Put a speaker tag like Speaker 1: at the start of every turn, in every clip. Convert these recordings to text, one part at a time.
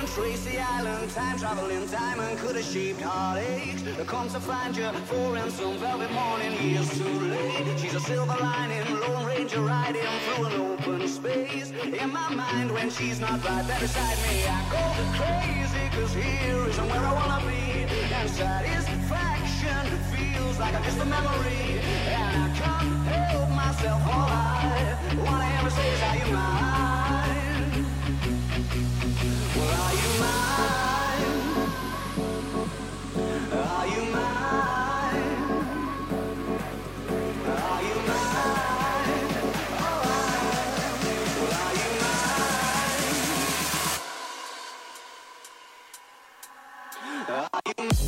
Speaker 1: trace the island, time traveling diamond could have shaped heartaches. Come to find you, for in some velvet morning, years too late. She's a silver lining, Lone Ranger riding through an open space. In my mind, when she's not right there beside me, I go crazy, cause here isn't where I wanna be. And satisfaction feels like I'm just a memory. And I can't help myself, all I wanna ever say is, are you mine? Well, are you mine? Are you mine? Are you mine? Oh, well, are you mine? Are you mine?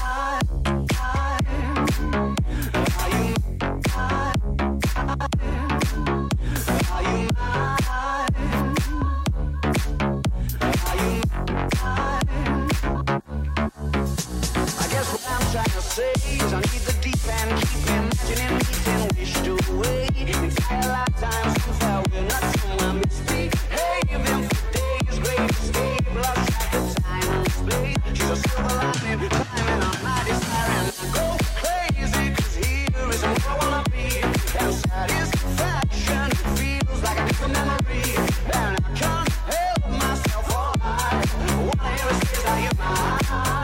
Speaker 1: I need the deep end, keep imagining meeting, wished away. Entire lifetime since that we're not somewhere misbehaving for days. Great escape, lost track of time and space. She's a silver lining, climbing on my desire, and I go crazy, cause here isn't where I wanna be. And satisfaction feels like a different memory. And I can't help myself, all I wanna hear is, are you mine?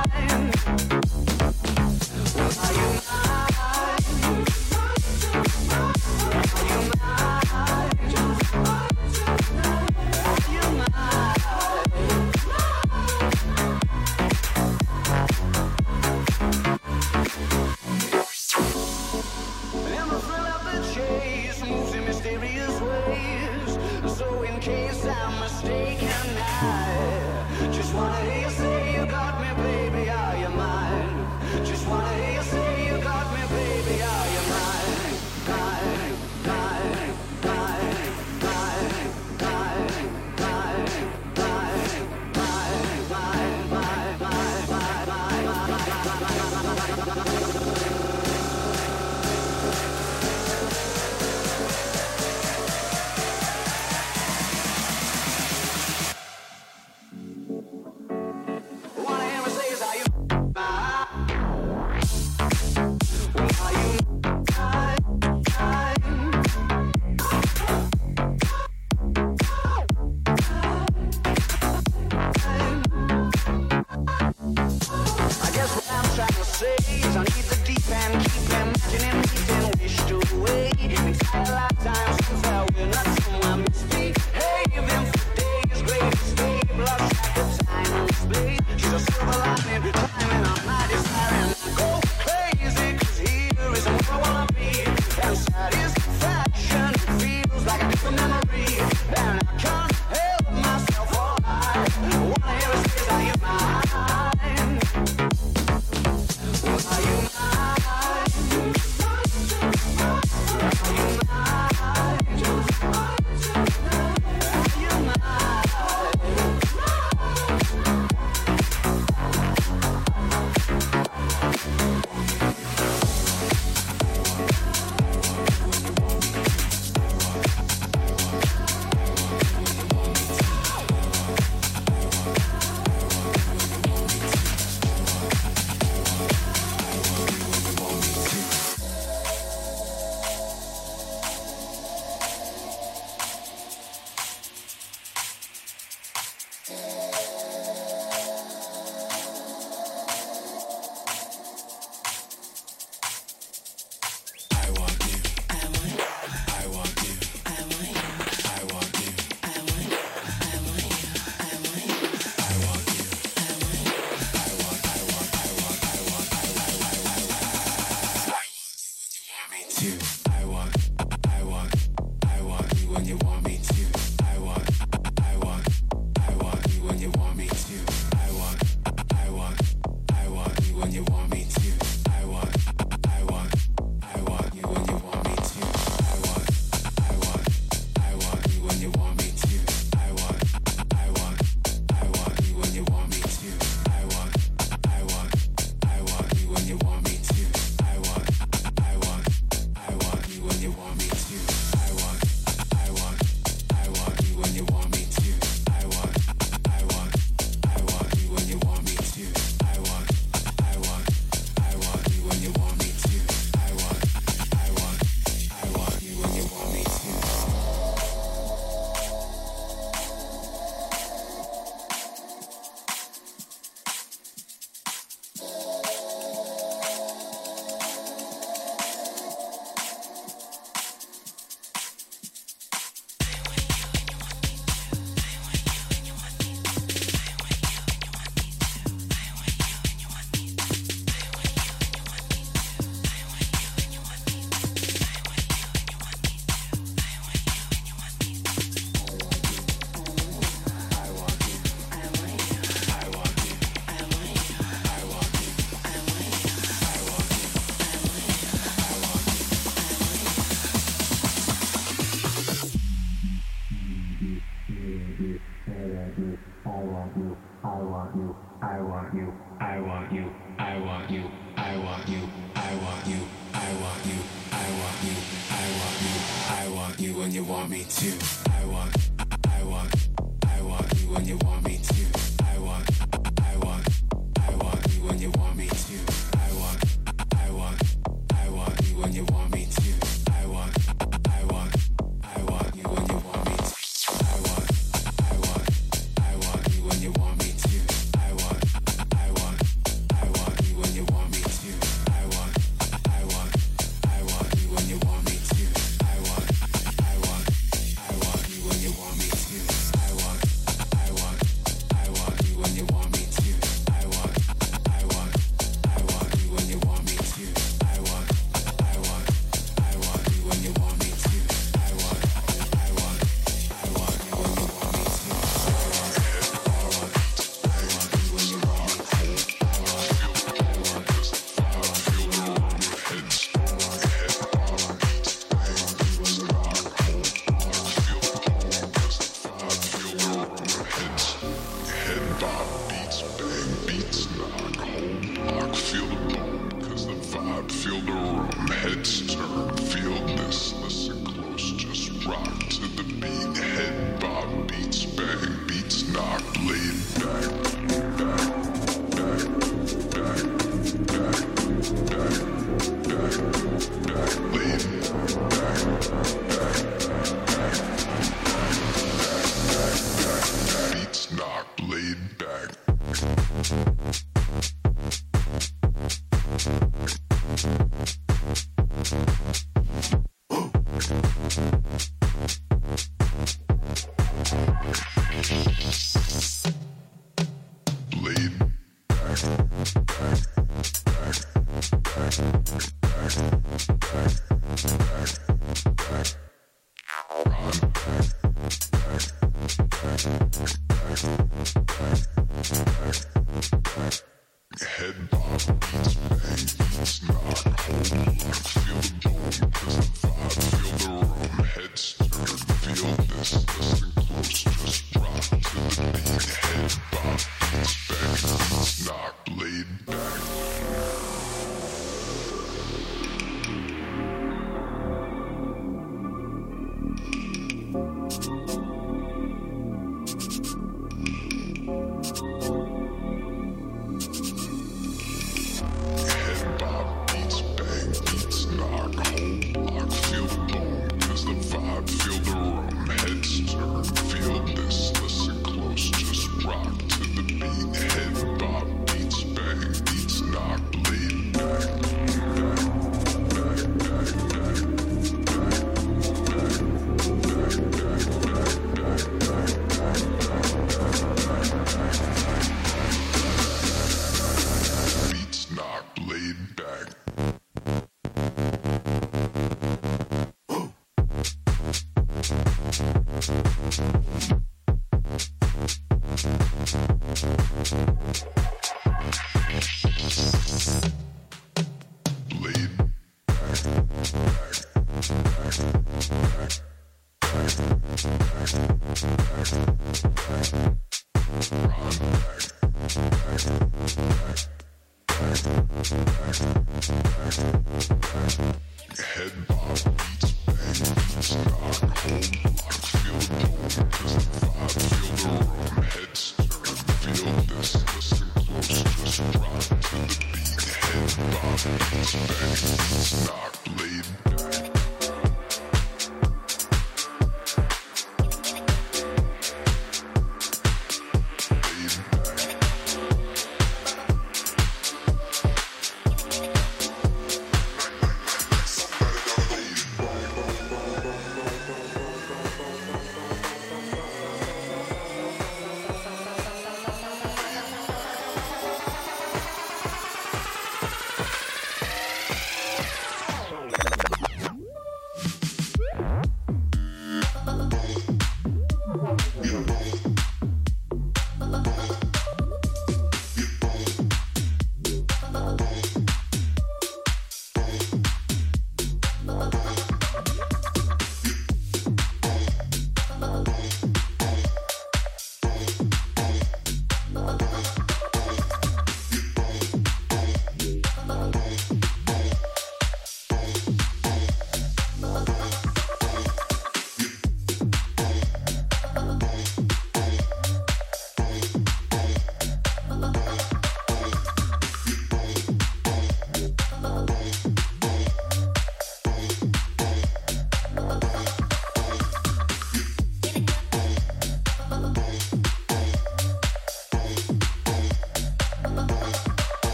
Speaker 1: Are you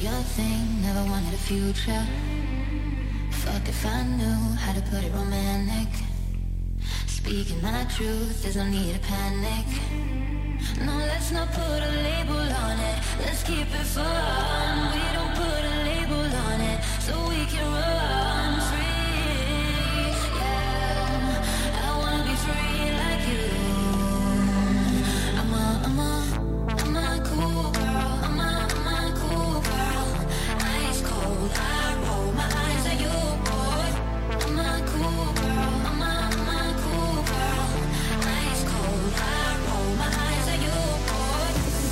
Speaker 2: your thing, never wanted a future. Fuck if I knew how to put it romantic. Speaking my truth, there's no need to panic. No, let's not put a label on it. Let's keep it fun. We don't put a label on it, so we can run free. Yeah, I wanna be free like you. I'm a cool girl. I'm a cool girl. Ice cold, I roll my eyes at you, boy. I'm a cool girl. I'm a cool girl. Ice cold, I roll my eyes at you, boy.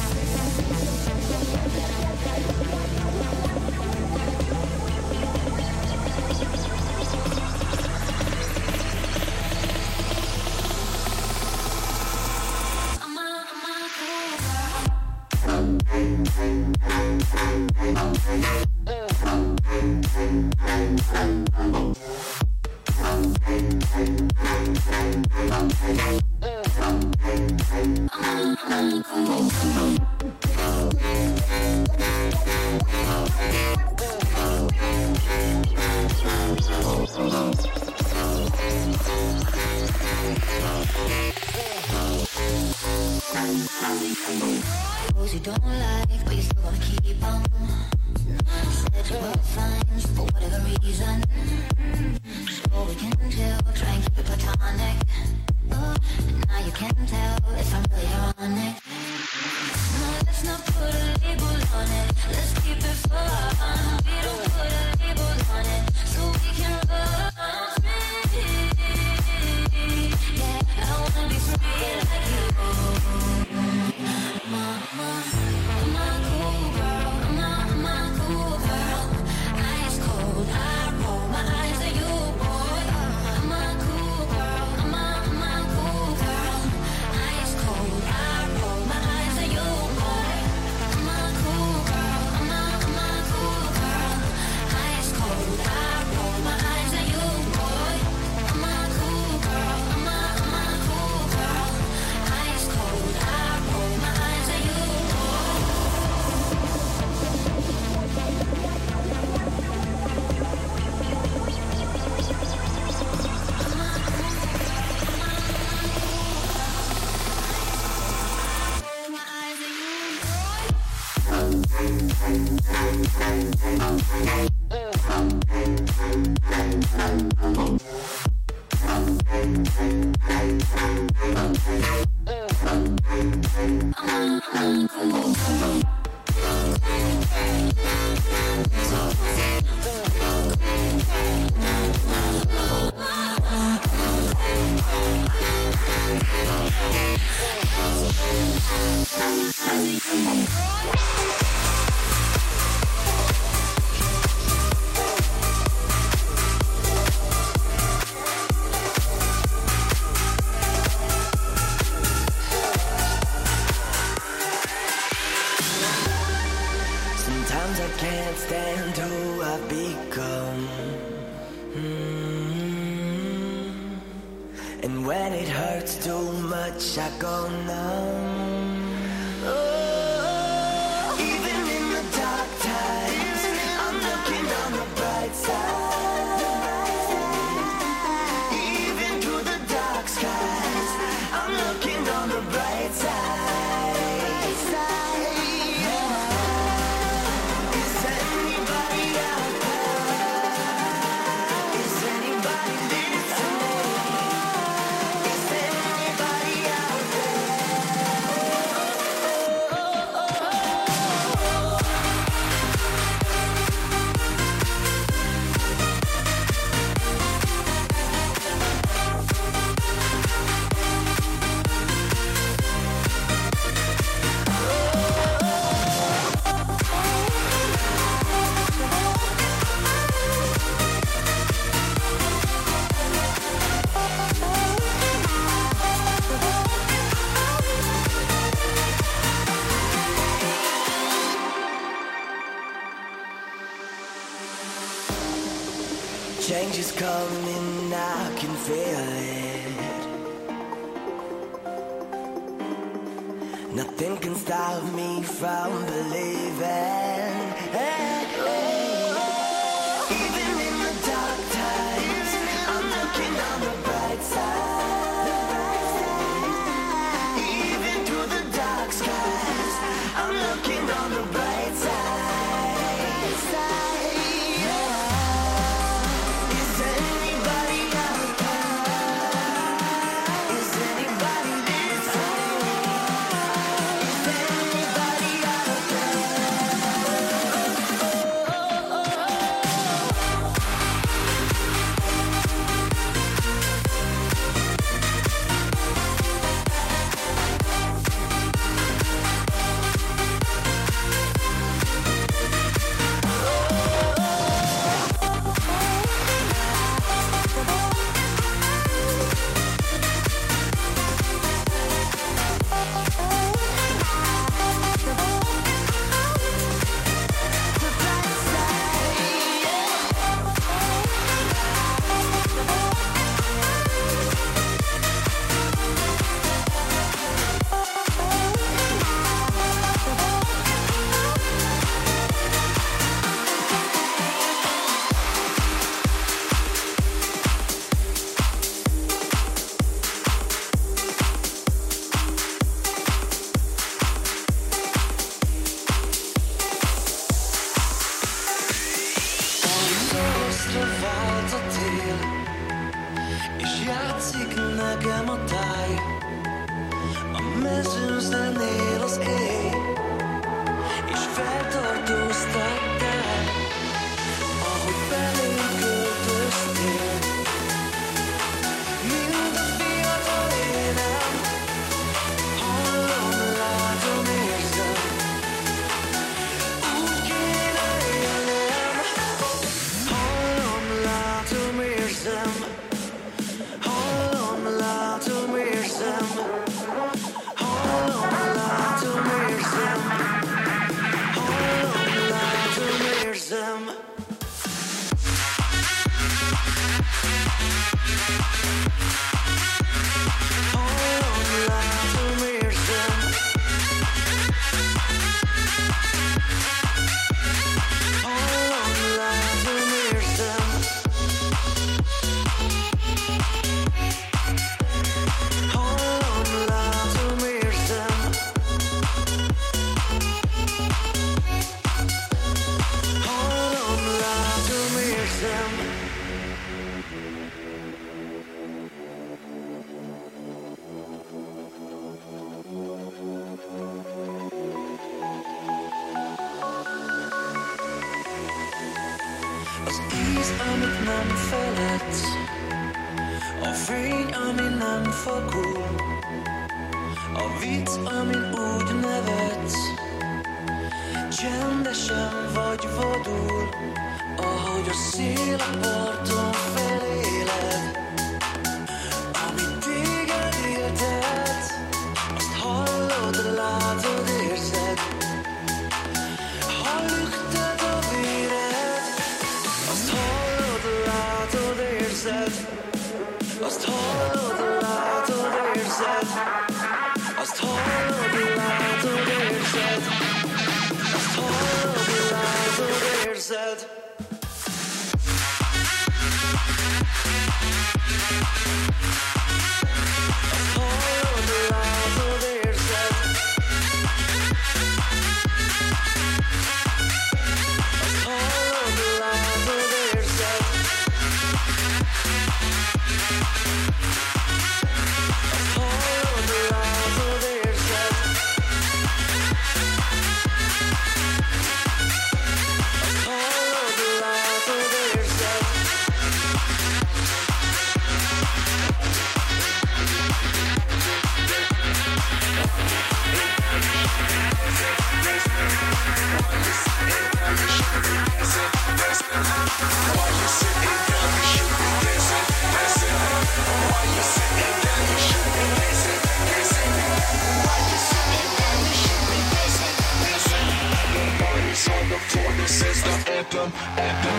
Speaker 2: Those you don't like, but you still wanna keep on. Said you were fine for whatever reason. Sure we can chill, try and keep it platonic. Now you can tell if I'm really ironic. No, let's not put a label on it. Let's keep it fun. We don't put a label on it, so we can run free. Yeah, I wanna be free like you. I'm a cool girl. I'm a cool girl. Ice cold, I roll my eyes at you, boy. I'm a cool girl. I'm a cool girl. Ice cold, I roll my eyes at you, boy. I'm a cool girl. I'm a cool girl. Ice cold, I roll my eyes at you, boy. I'm a cool girl. I'm a cool girl. Ice cold, I roll my eyes at you, boy.
Speaker 3: Sometimes I can't stand who I've become. And when it hurts too much, I go numb. Oh, even in the dark times, I'm looking on the bright side. Even through the dark skies, I'm looking on the bright side. Change is coming, I can feel it. Nothing can stop me from believing. Nyugatra vált a tél, és játszik nekem a táj. A mezőn zenél az éj, és feltartóztattál, ahogy belém költöztél. Mind a fiatal énem, hallom, látom, érzem, úgy kéne élnem. Hallom, látom, érzem, hallom, látom, érzem, hallom, látom, érzem, hallom, látom, érzem. Az íz, amit nem feledsz, a fény, ami nem fakul, a vicc, amin úgy nevetsz, csendesen vagy vadul, ahogy a szél a parton feléled. Amit téged éltet, azt hallod, látod, érzed. Ha lüktet a véred, azt hallod, látod, érzed. Azt hallod, látod, érzed. Azt hallod, látod, érzed. Azt hallod, látod, érzed. Azt hallod, látod, érzed. Azt hallod, látod, érzed. Azt hallod, látod, érzed. Azt hallod, látod, érzed. This is the anthem, anthem.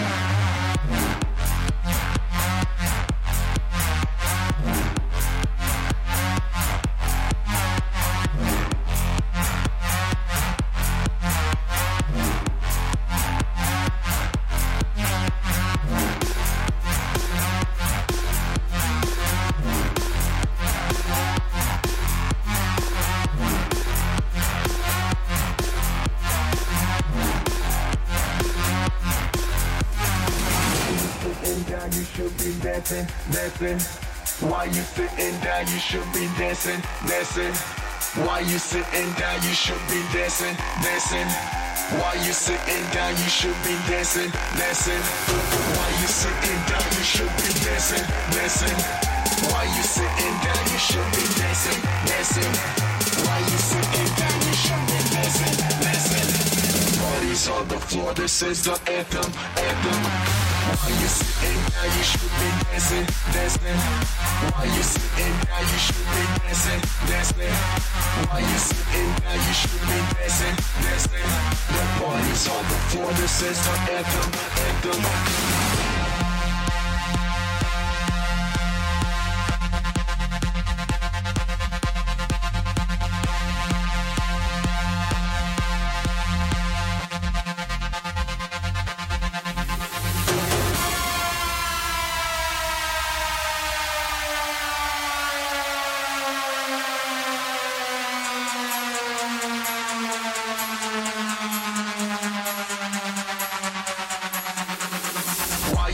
Speaker 3: Dancing, dancing. Why you sitting down? You should be dancing, dancing. Why you sitting down? You should be dancing, dancing. Why you sitting down? You should be dancing, dancing. Why you sitting down? You should be dancing, dancing. Why you sitting down? You should be dancing, dancing. Why you sitting down? You should be dancing, dancing. Parties on the floor. This is the anthem, anthem. Why you sitting down? You should be dancing, dancing. Why you sitting down? You should be dancing, dancing. Why you sitting down? You should be dancing, dancing. The party's on the floor. This is the anthem, anthem.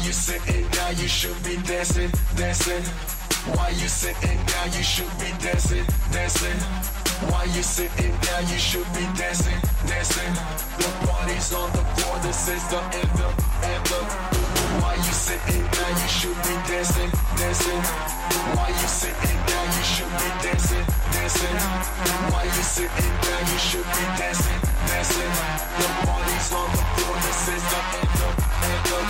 Speaker 3: you sitting down? You should be dancing, dancing. Why you sitting down? You should be dancing, dancing. Why you sitting down? You should be dancing, dancing. The party's on the floor. This is the anthem, anthem. Why you sitting down? You should be dancing, dancing. Why you sitting down? You should be dancing, dancing. Why you sitting down? You should be dancing, dancing. The party's on the floor. This is the anthem, anthem.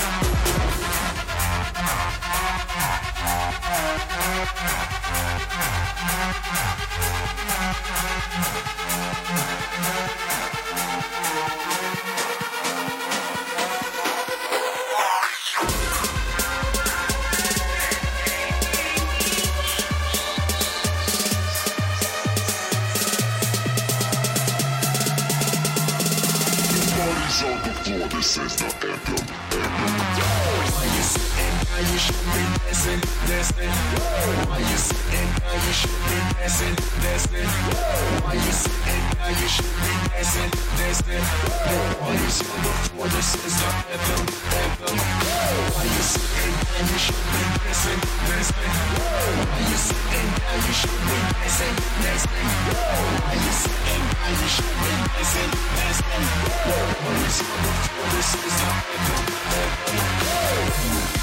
Speaker 4: On the floor, this is the anthem.
Speaker 3: Why you sitting down? You should be dancing, dancing. Why you sitting down? You should be dancing, dancing. Why you sitting down? You should be dancing, dancing. The party's on the floor. This is the anthem, anthem. Why you sitting down? You should be dancing, dancing. Why you sitting down? You should be dancing, dancing. Why you sitting down? You should be dancing, dancing. The party's on the floor. This is the anthem, anthem.